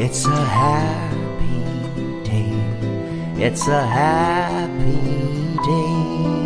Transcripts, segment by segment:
It's a happy day. It's a happy day.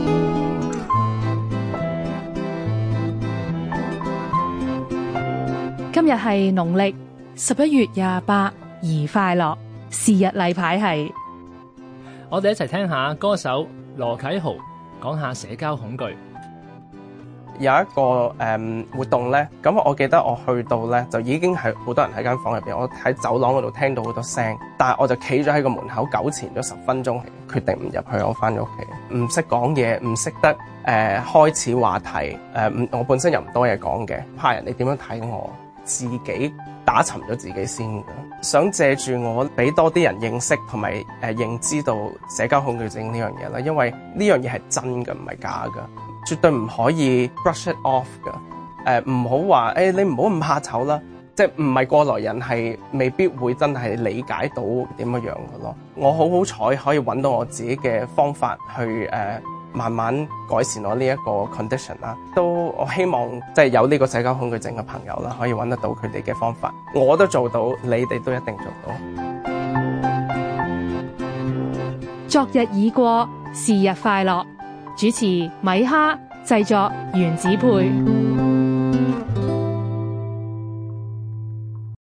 今日係農曆11月28，宜快樂。是日例牌係， 我哋一齊聽下歌手羅啟豪講下社交恐懼。 有一個活動咧，咁我記得我去到咧就已經係好多人喺間房入邊，我喺走廊嗰度聽到好多聲，但係我就企咗喺個門口糾纏咗10分鐘，決定唔入去，我翻咗屋企。唔識講嘢，唔識得開始話題，我本身又唔多嘢講嘅，怕人哋點樣睇我，自己打沉咗自己先嘅。想借住我俾多啲人認識同埋認知到社交恐懼症呢樣嘢啦，因為呢樣嘢係真嘅，唔係假嘅。絕對唔可以 brush it off 㗎，唔好話你唔好咁怕醜啦，即係唔係過來人係未必會真係理解到點樣樣嘅咯。我好彩可以揾到我自己嘅方法去慢慢改善我呢一個 condition 啦。都我希望即係有呢個社交恐懼症嘅朋友啦，可以揾得到佢哋嘅方法。我都做到，你哋都一定做到。 昨日已過，是日快樂。主持米哈，製作原子配。